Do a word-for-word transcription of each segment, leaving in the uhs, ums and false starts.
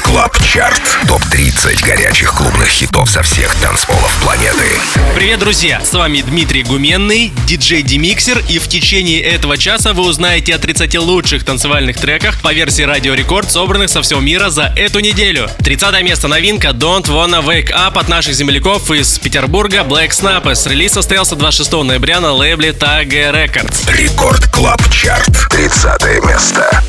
Клаб Чарт. топ тридцать горячих клубных хитов со всех танцполов планеты. Привет, друзья! С вами Дмитрий Гуменный, диджей Демиксер, и в течение этого часа вы узнаете о тридцати лучших танцевальных треках по версии Радио Рекорд, собранных со всего мира за эту неделю. тридцатое место, новинка Don't Wanna Wake Up от наших земляков из Петербурга Black Snappers. Релиз состоялся двадцать шестого ноября на лейбле Tag Records. Рекорд Клаб Чарт. тридцатое место.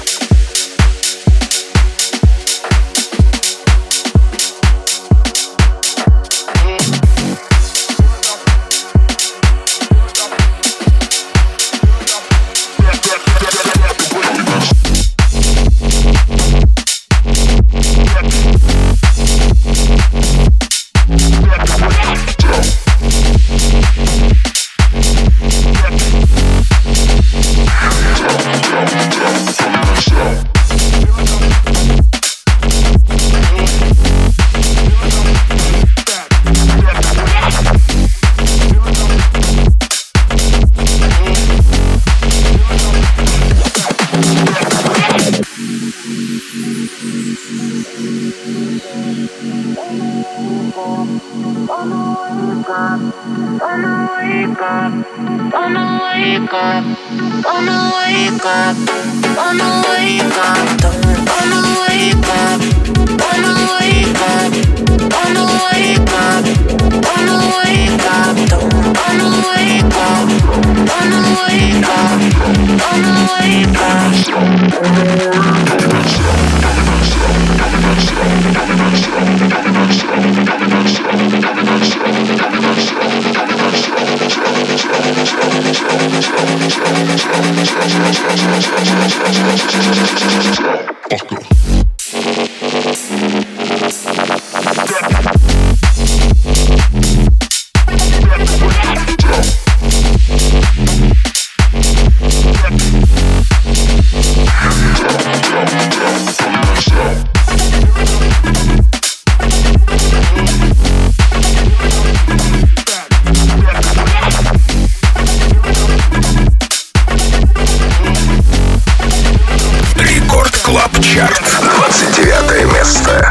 двадцать девятое место.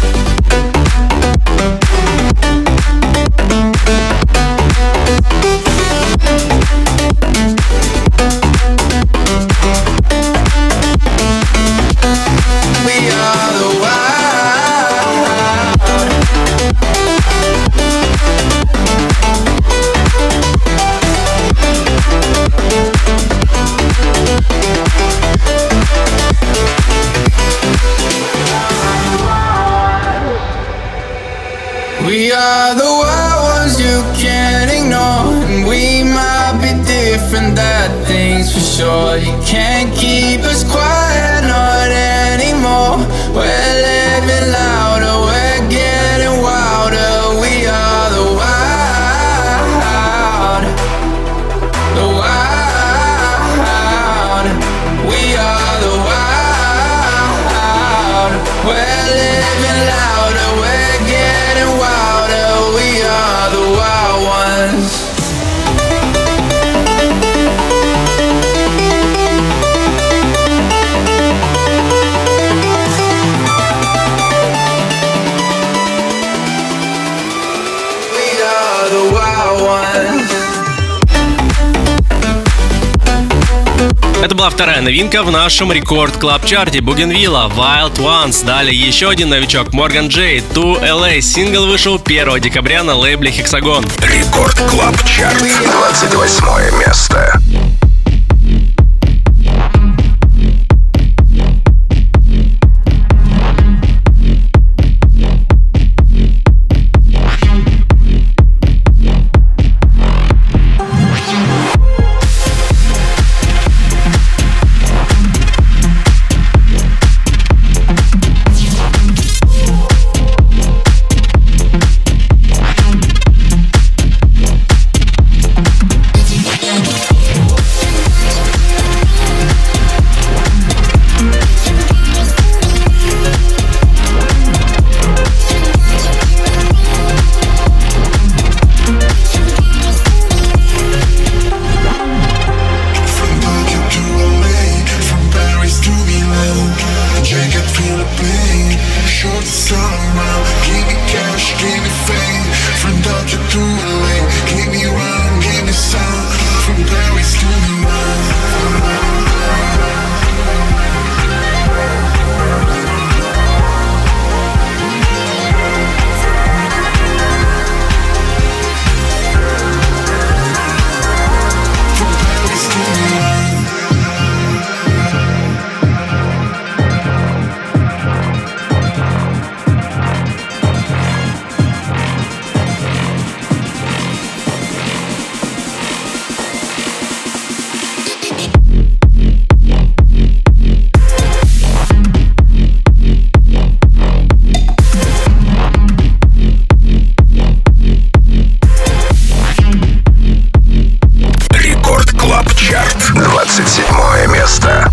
We are the wild ones you can't ignore, and we might be different, that thing's for sure. You can't keep us quiet, not anymore. We're living louder, we're getting wilder. We are the wild, the wild. We are the wild. We're living louder, we're getting wilder. We are the wild ones. We are the wild ones. Это была вторая новинка в нашем Рекорд Клаб Чарте Bougainville Wild Ones. Далее еще один новичок Morgan J To эл эй. Сингл вышел первого декабря на лейбле Hexagon. Рекорд Клаб Чарт. двадцать восьмое место. short the sun around. Give me cash, give me fame. From Dodger to L A. Give me run, give me sound. From Paris to Milan. двадцать седьмое место.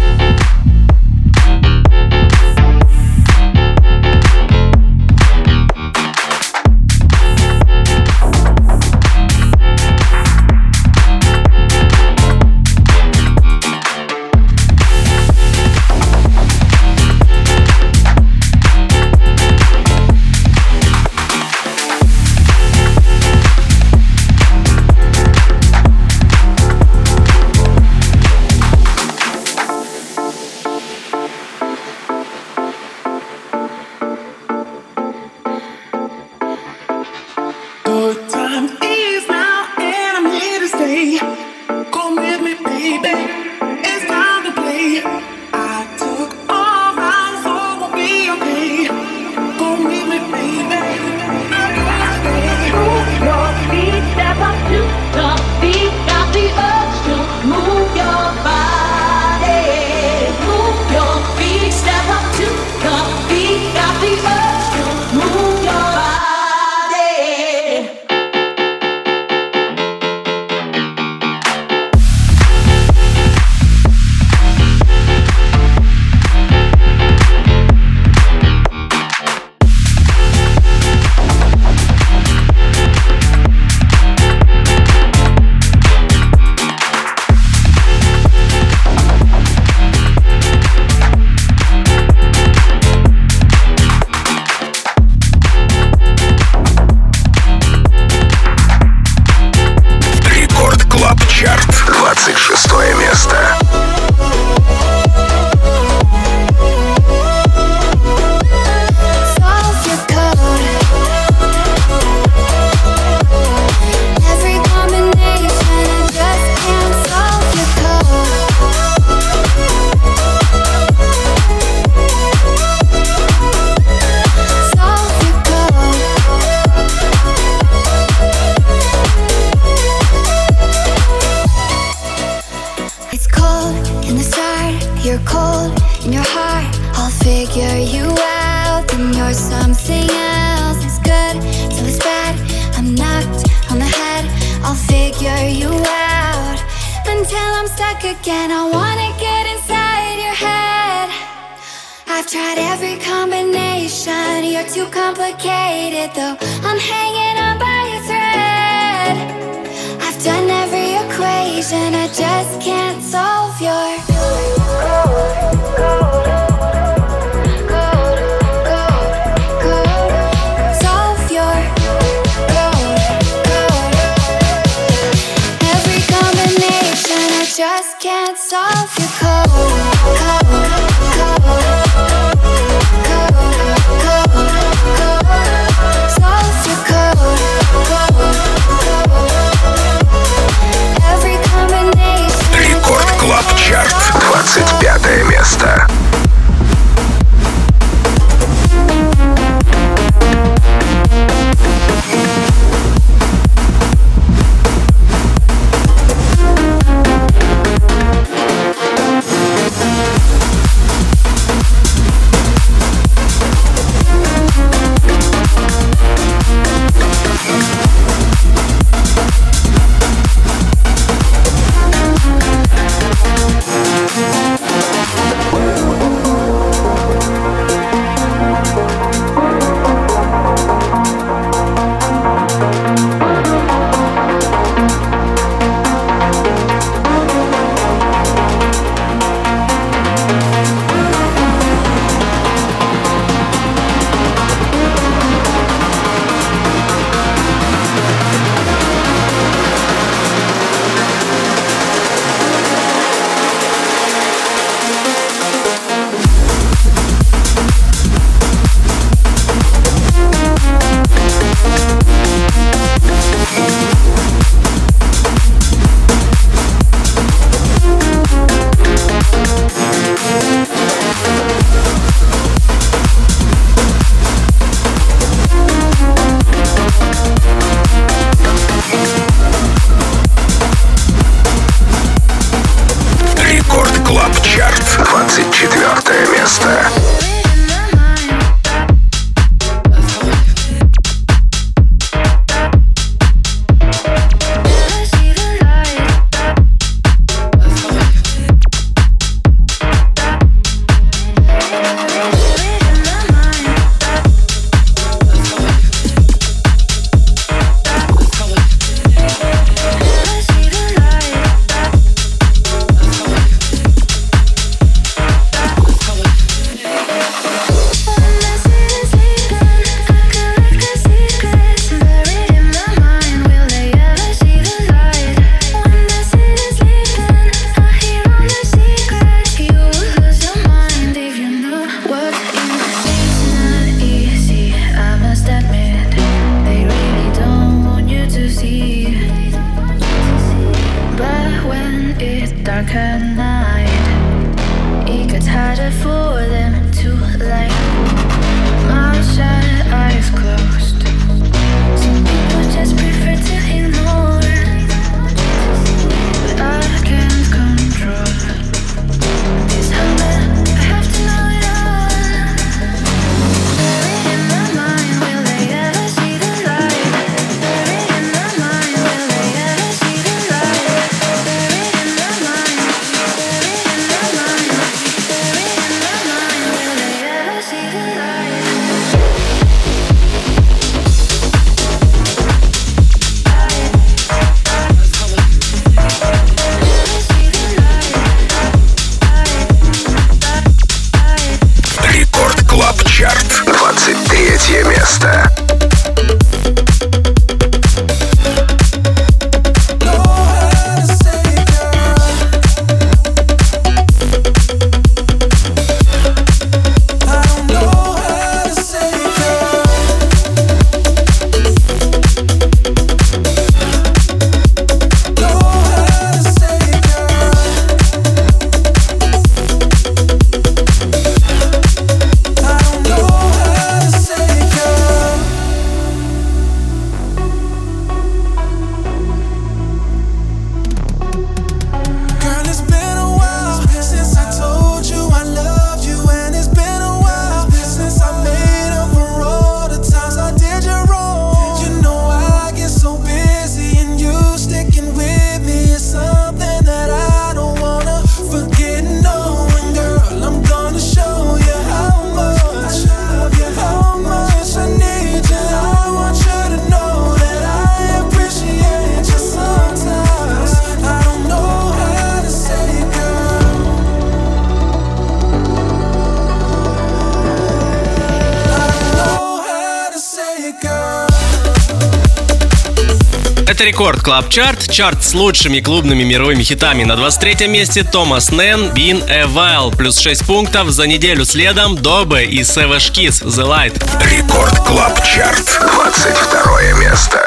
место. Это Рекорд Клаб Чарт, чарт с лучшими клубными мировыми хитами. На двадцать третьем месте Томас Нэн, Been a While, плюс шесть пунктов. За неделю следом Добе и Savage Kiss, The Light. Рекорд Клаб Чарт, двадцать второе место.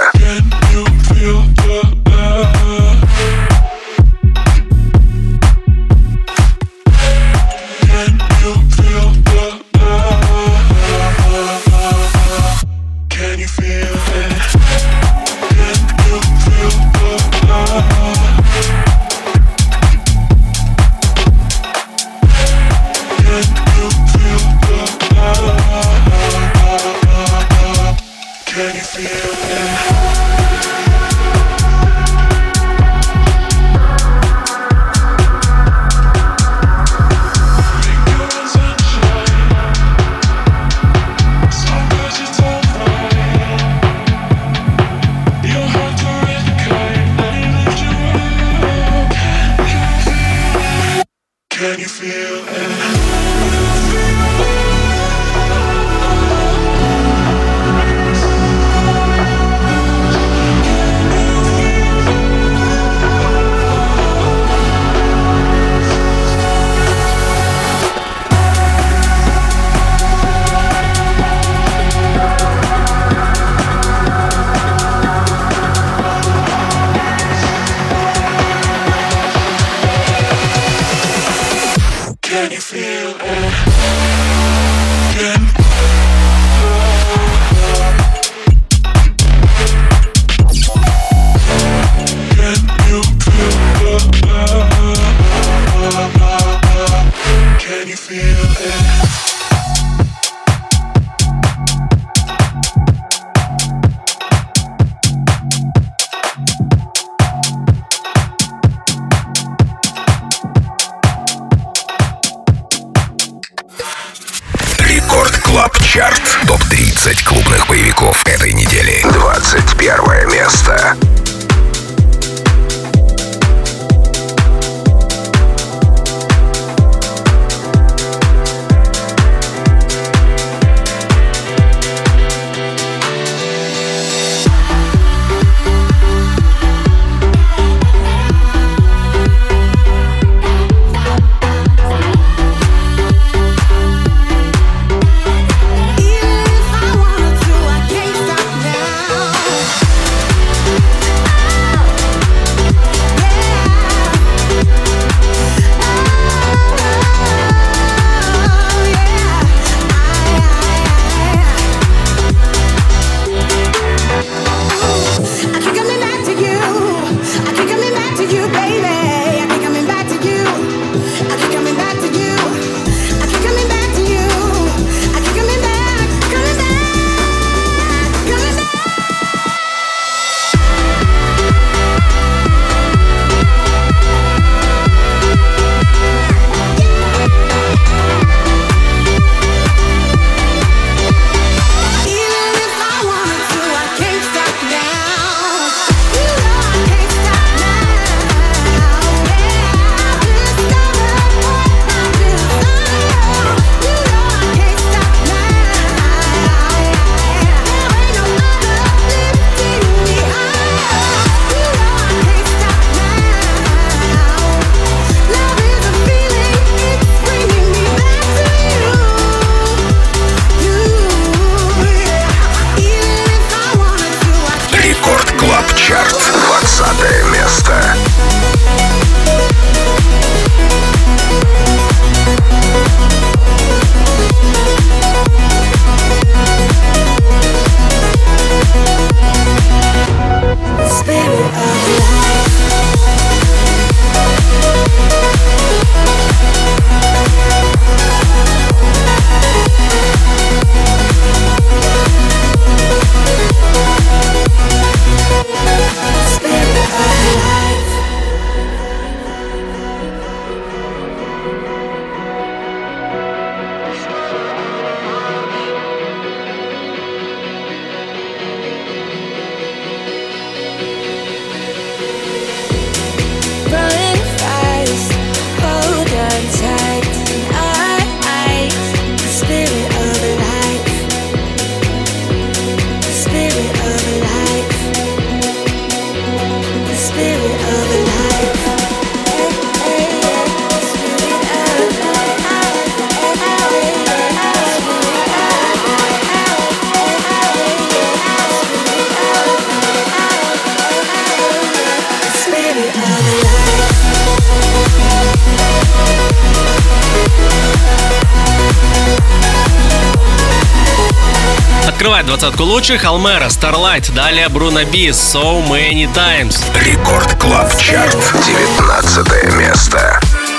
Чарт. топ тридцать клубных боевиков этой недели. двадцать первое место. If I wanted to, I can't stop now. Открывает двадцатку лучших Алмера, Starlight, далее Bruno B, So Many Times. Рекорд Клаб Чарт, девятнадцатое место.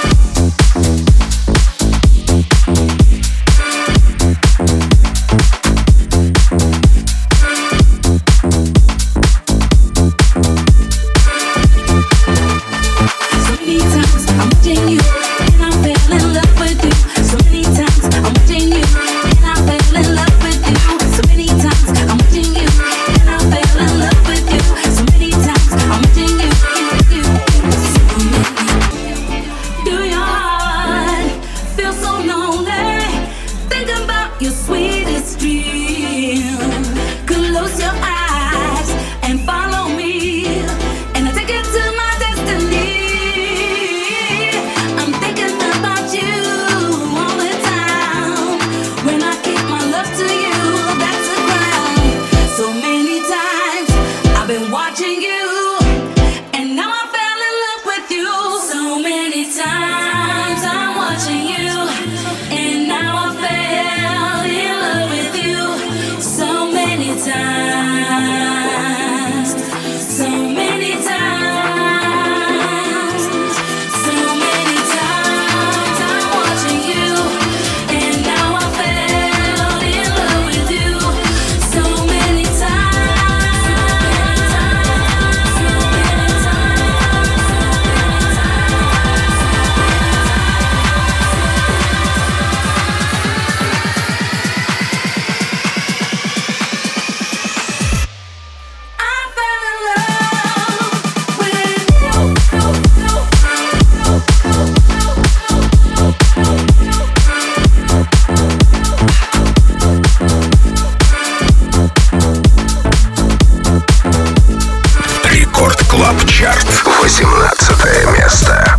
восемнадцатое место.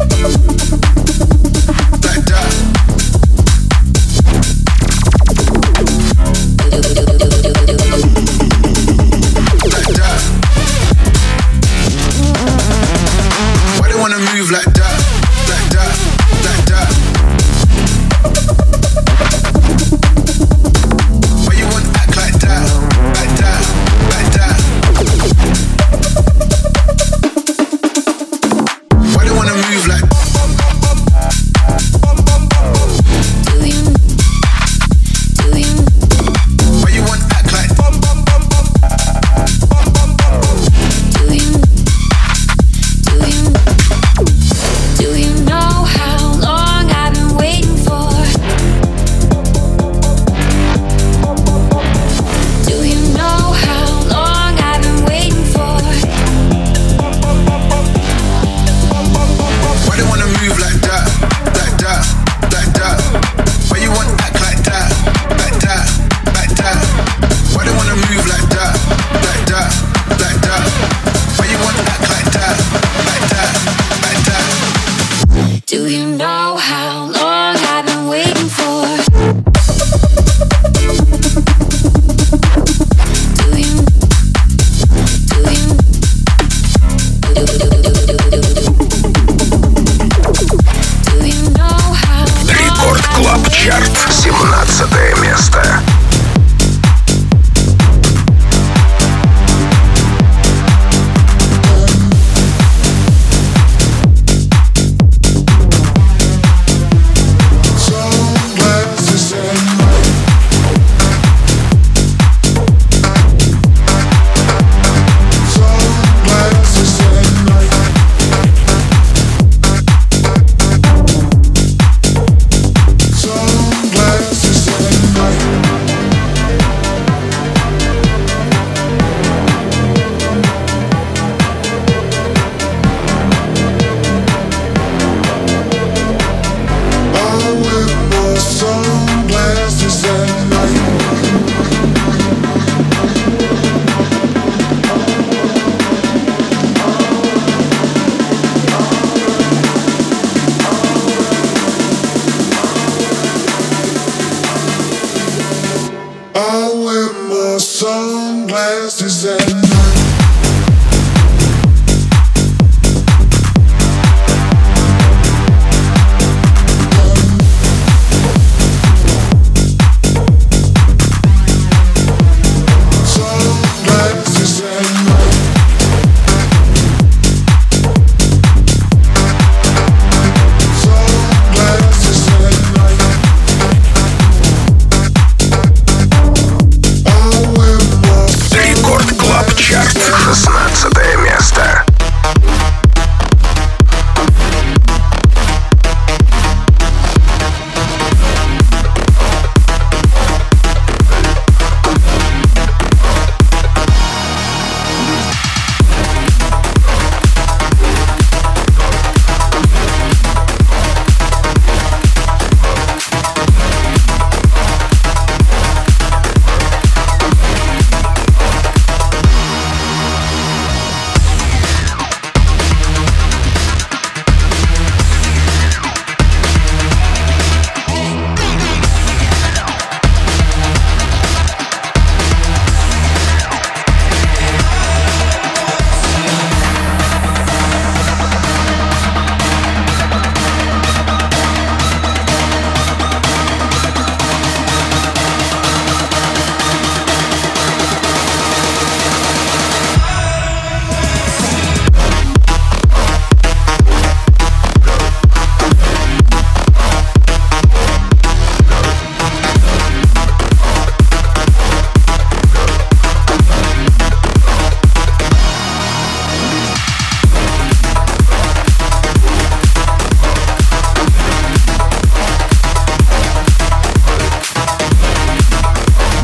семнадцатое место.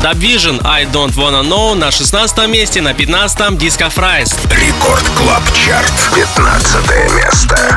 Subvision I Don't Wanna Know на шестнадцатом месте, на пятнадцатом Disco Fries. Рекорд Клаб Чарт, пятнадцатое место.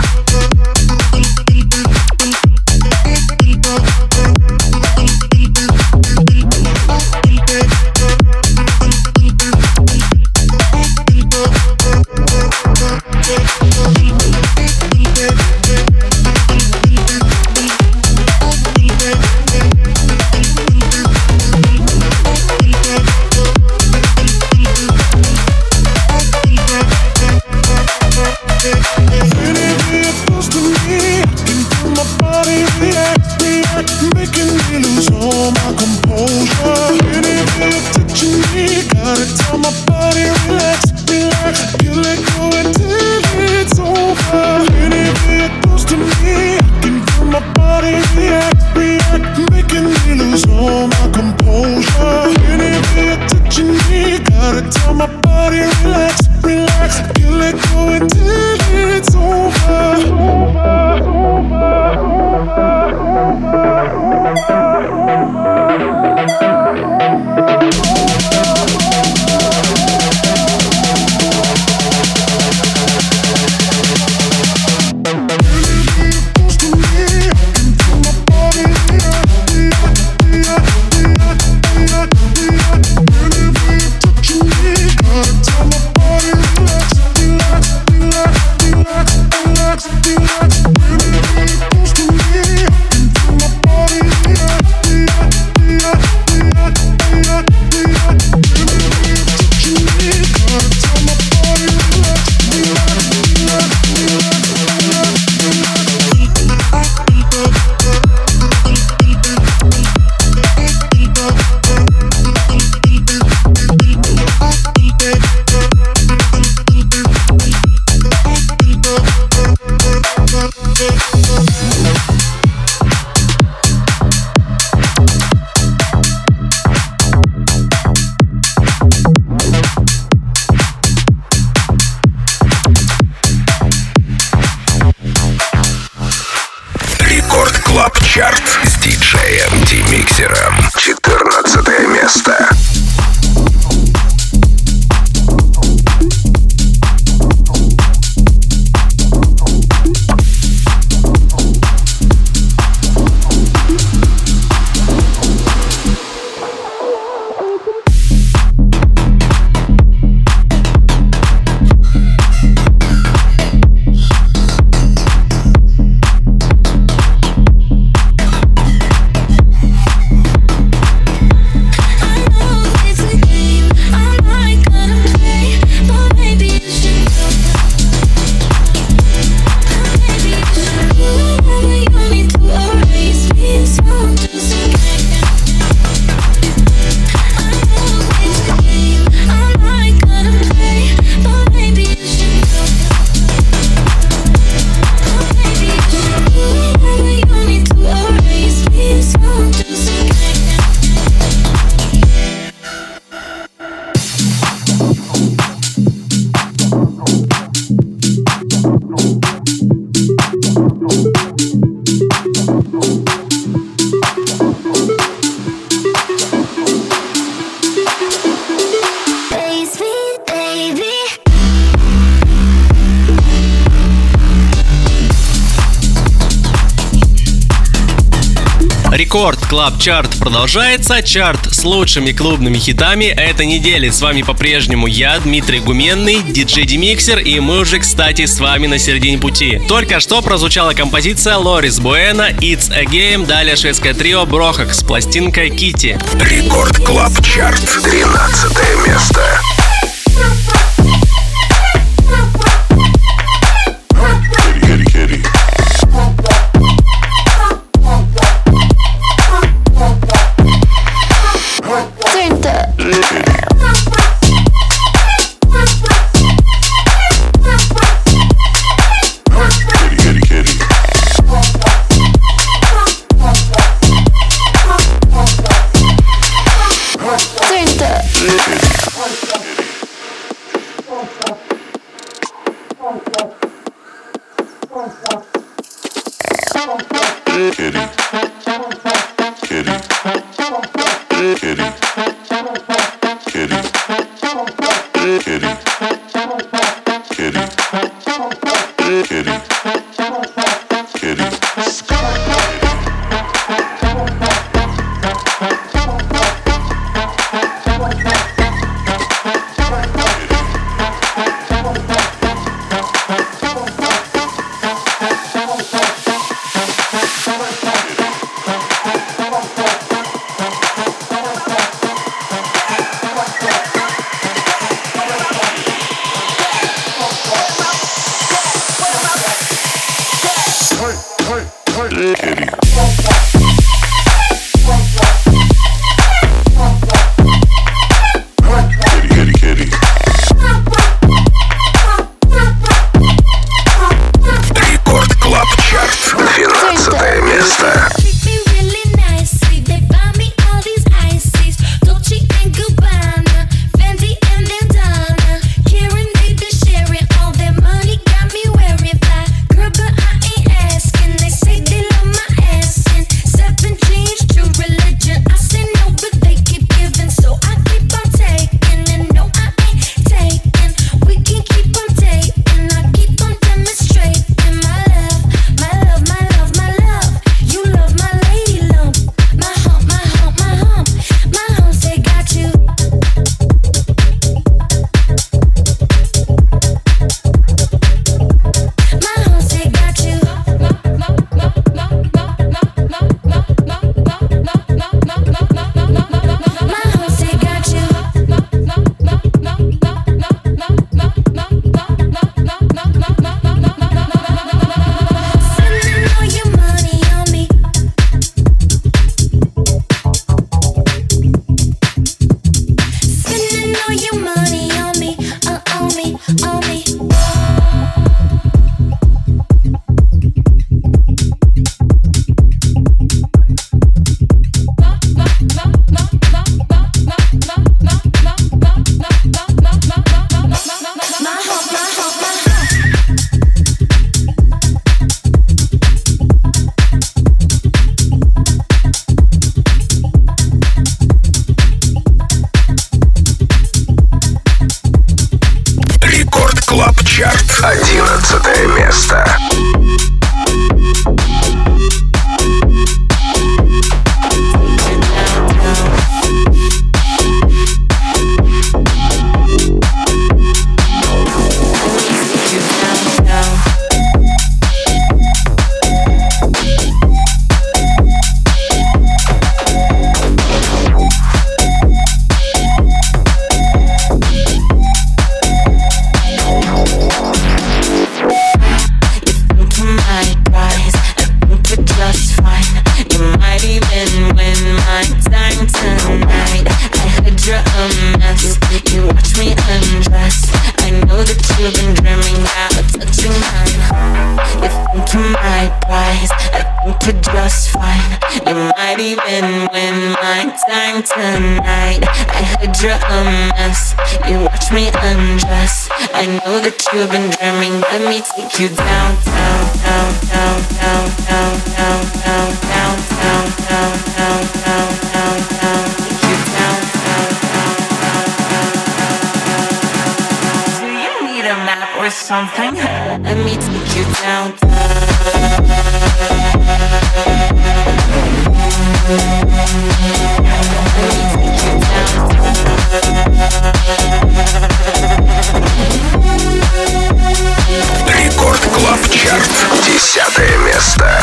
Чарт с диджеем Ди-Миксером. четырнадцатое место. Рекорд Клаб Чарт продолжается. Чарт с лучшими клубными хитами этой недели. С вами по-прежнему я, Дмитрий Гуменный, диджей Ди-Миксер, и мы уже, кстати, с вами на середине пути. Только что прозвучала композиция Лорис Буэна «It's a Game», далее шведское трио Брохак с пластинкой «Китти». Рекорд Клаб Чарт, тринадцатое место. Kitty, kitty, kitty. одиннадцатое место. Tonight, I heard you're a mess. You watch me undress. I know that you've been dreaming. Let me take you down, down, down, down, down, down, down, down, down, down, down, down, down, down, down. Take you down, down, down, down, down, down, down. Do you need a map or something? Let me take you down, Рекорд Клаб Чарт. Десятое место.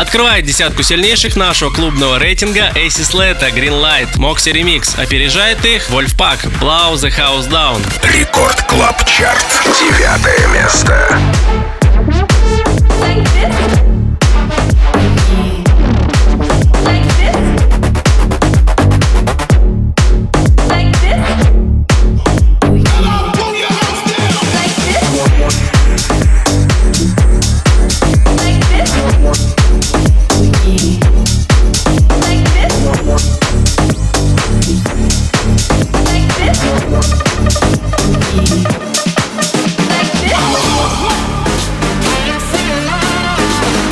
Открывает десятку сильнейших нашего клубного рейтинга Эйси Слэта, Green Light, Moxie Remix. Опережает их Wolfpack, Blow the House Down. Рекорд Клаб Чарт. Девятое место. Like this.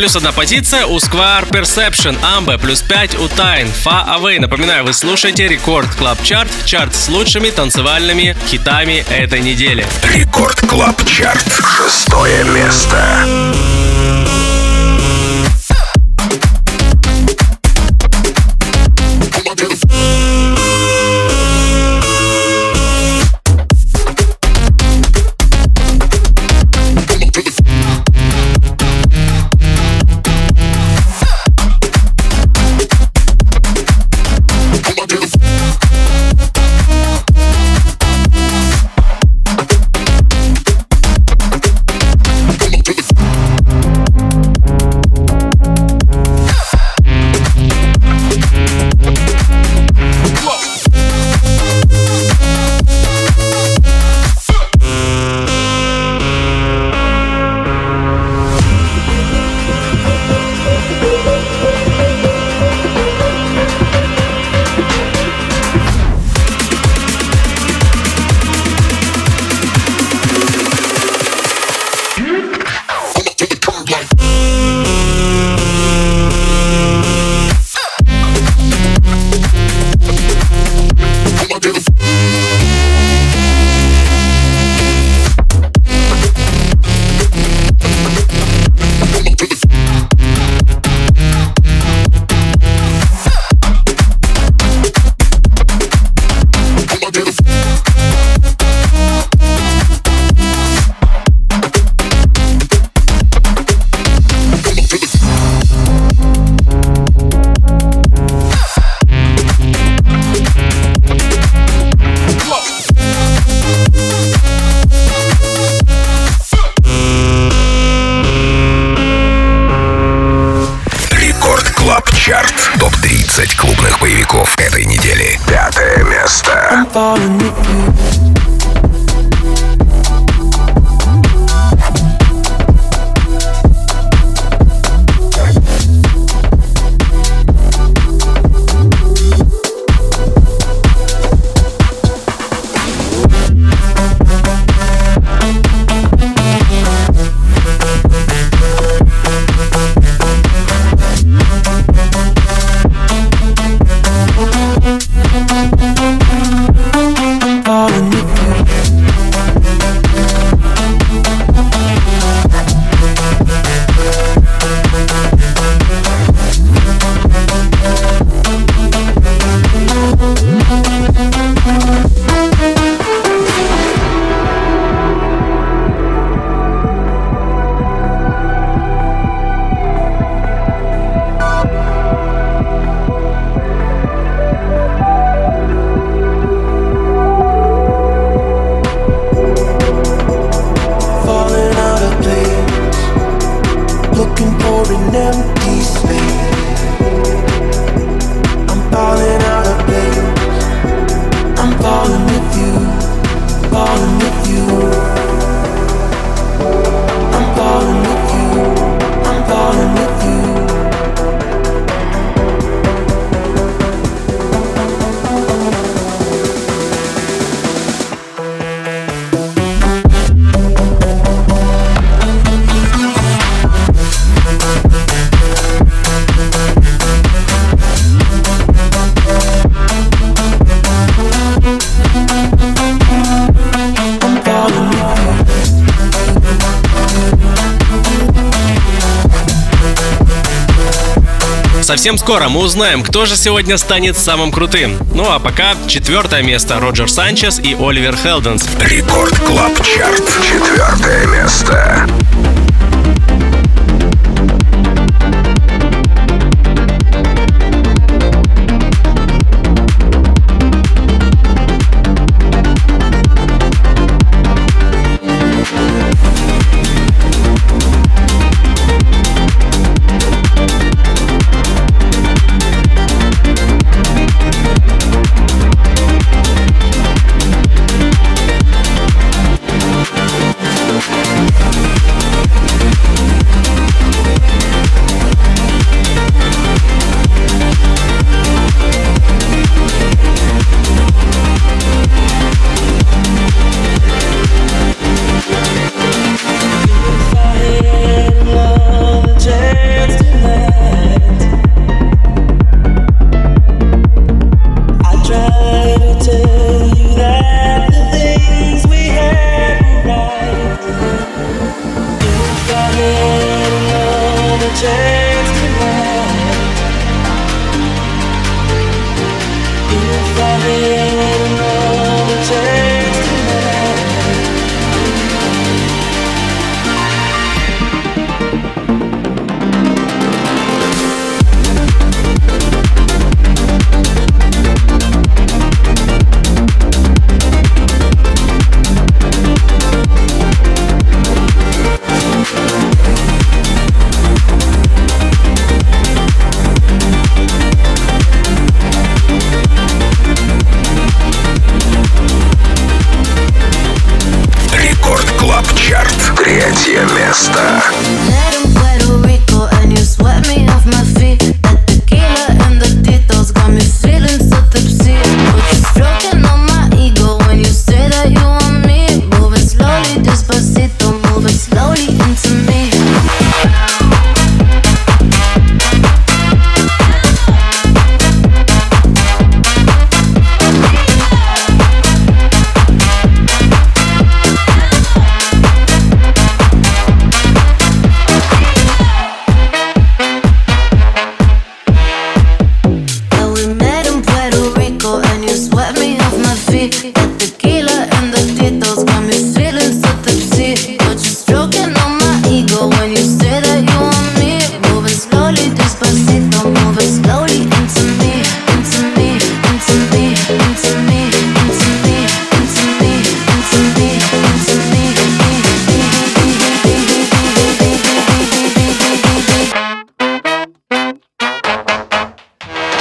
Плюс одна позиция у Square Perception, Ambe, плюс пять у Tyne, Far Away. Напоминаю, вы слушаете Рекорд Клаб Чарт, чарт с лучшими танцевальными хитами этой недели. Рекорд Клаб Чарт, шестое место. топ тридцать клубных боевиков этой недели. Пятое место. Совсем скоро мы узнаем, кто же сегодня станет самым крутым. Ну а пока четвертое место — Роджер Санчес и Оливер Хелденс. Рекорд Клаб Чарт, четвертое место.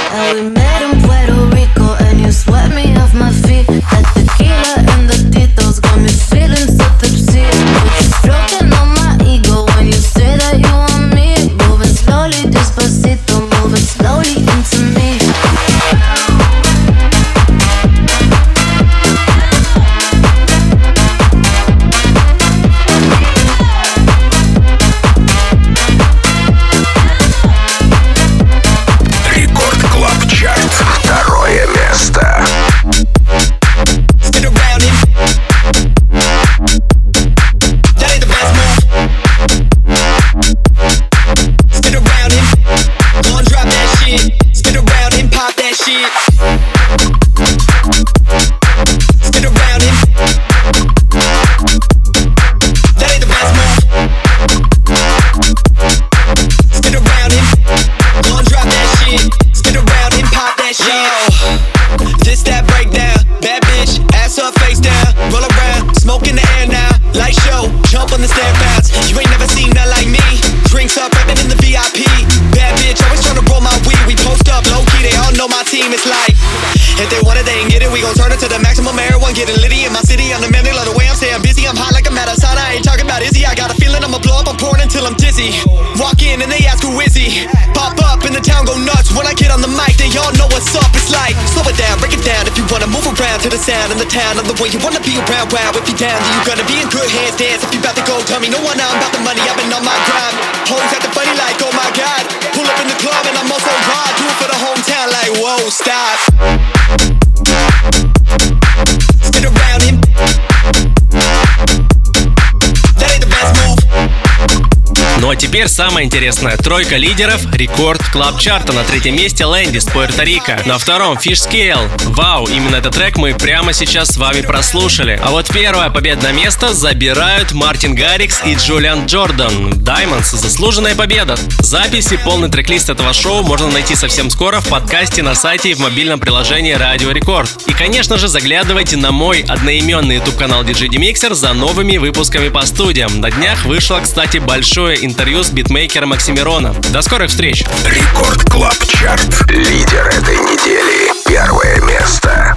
And we met in Puerto Rico, and you swept me off my feet. That tequila and the titos got me feeling so tipsy. But you're stroking on my ego when you say that you want me. Moving slowly, despacito, moving slowly into me. Рекорд Клаб Чарт. Второе место. Getting litty in my city, I'm demanding like the way I'm staying busy. I'm hot like a mad asana, I ain't talking about Izzy. I got a feeling I'ma blow up, I'm pouring until I'm dizzy. Walk in and they ask who is he. Pop up and the town go nuts. When I get on the mic, they all know what's up. It's like, slow it down, break it down. If you wanna move around to the sound in the town, I'm the way you wanna be around. Wow, if you're down, then you gonna be in good hands. Dance if you about to go, tell me no one now, I'm about the money, I've been on my grind. Hoes acting funny like, oh my god. Pull up in the club and I'm also hard. Do it for the hometown like, whoa, stop. Spin around him. That ain't the best move. Ну а теперь самое интересное. Тройка лидеров рекорд клаб чарта. На третьем месте Лэнди с Пуэрто-Рико. На втором Fish Scale. Вау, именно этот трек мы прямо сейчас с вами прослушали. А вот первое победное место забирают Мартин Гаррикс и Джулиан Джордан. Diamonds. Заслуженная победа. Запись и полный трек-лист этого шоу можно найти совсем скоро в подкасте на сайте и в мобильном приложении Радио Рекорд. И, конечно же, заглядывайте на мой одноименный YouTube-канал ди джей Demixer за новыми выпусками по студиям. На днях вышло, кстати, большое интервью с битмейкером Оксимироном. До скорых встреч! Рекорд Клаб Чарт. Лидер этой недели. Первое место.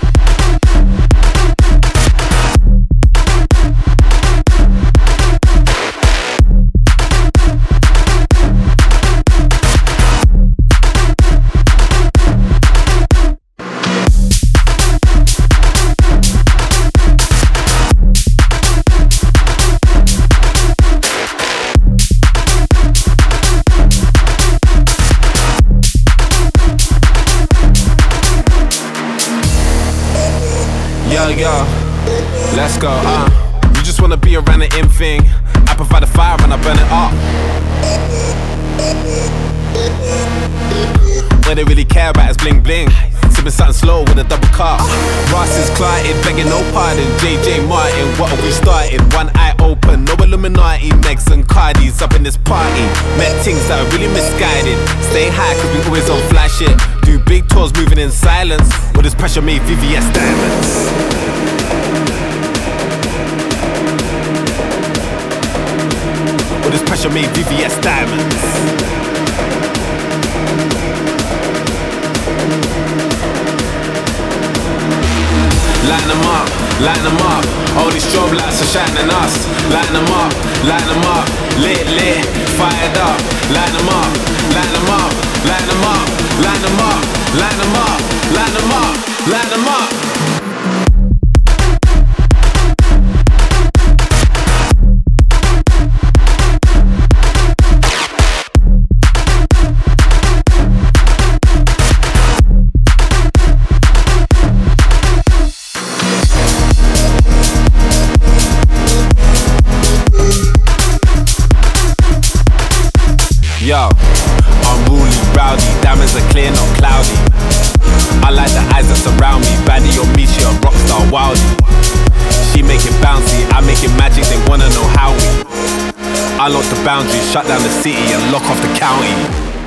Yo, let's go, uh you just wanna be around the in thing. I provide the fire and I burn it up. What they really care about is bling bling. Sipping something slow with a double cup. Ross is clotted, begging no pardon. J J Martin, what are we starting? One eye open, no Illuminati. Megs and Cardis up in this party. Met things that are really misguided. Stay high cause we always on fly shit. Do big tours moving in silence. With this pressure made V V S diamonds. With this pressure made V V S diamonds. Line them up, line them up. All these strobe lights are shining us. Line them up, line them up. Lit, lit, fired up. Line them up, line them up, line them up, line them up, line them up, line them up, line them up. Yo, unruly, rowdy, diamonds are clear, not cloudy. I like the eyes that surround me. Baddie on me, she a rockstar wildie. She make it bouncy, I make it magic, they wanna know how we. I lock the boundaries, shut down the city and lock off the county.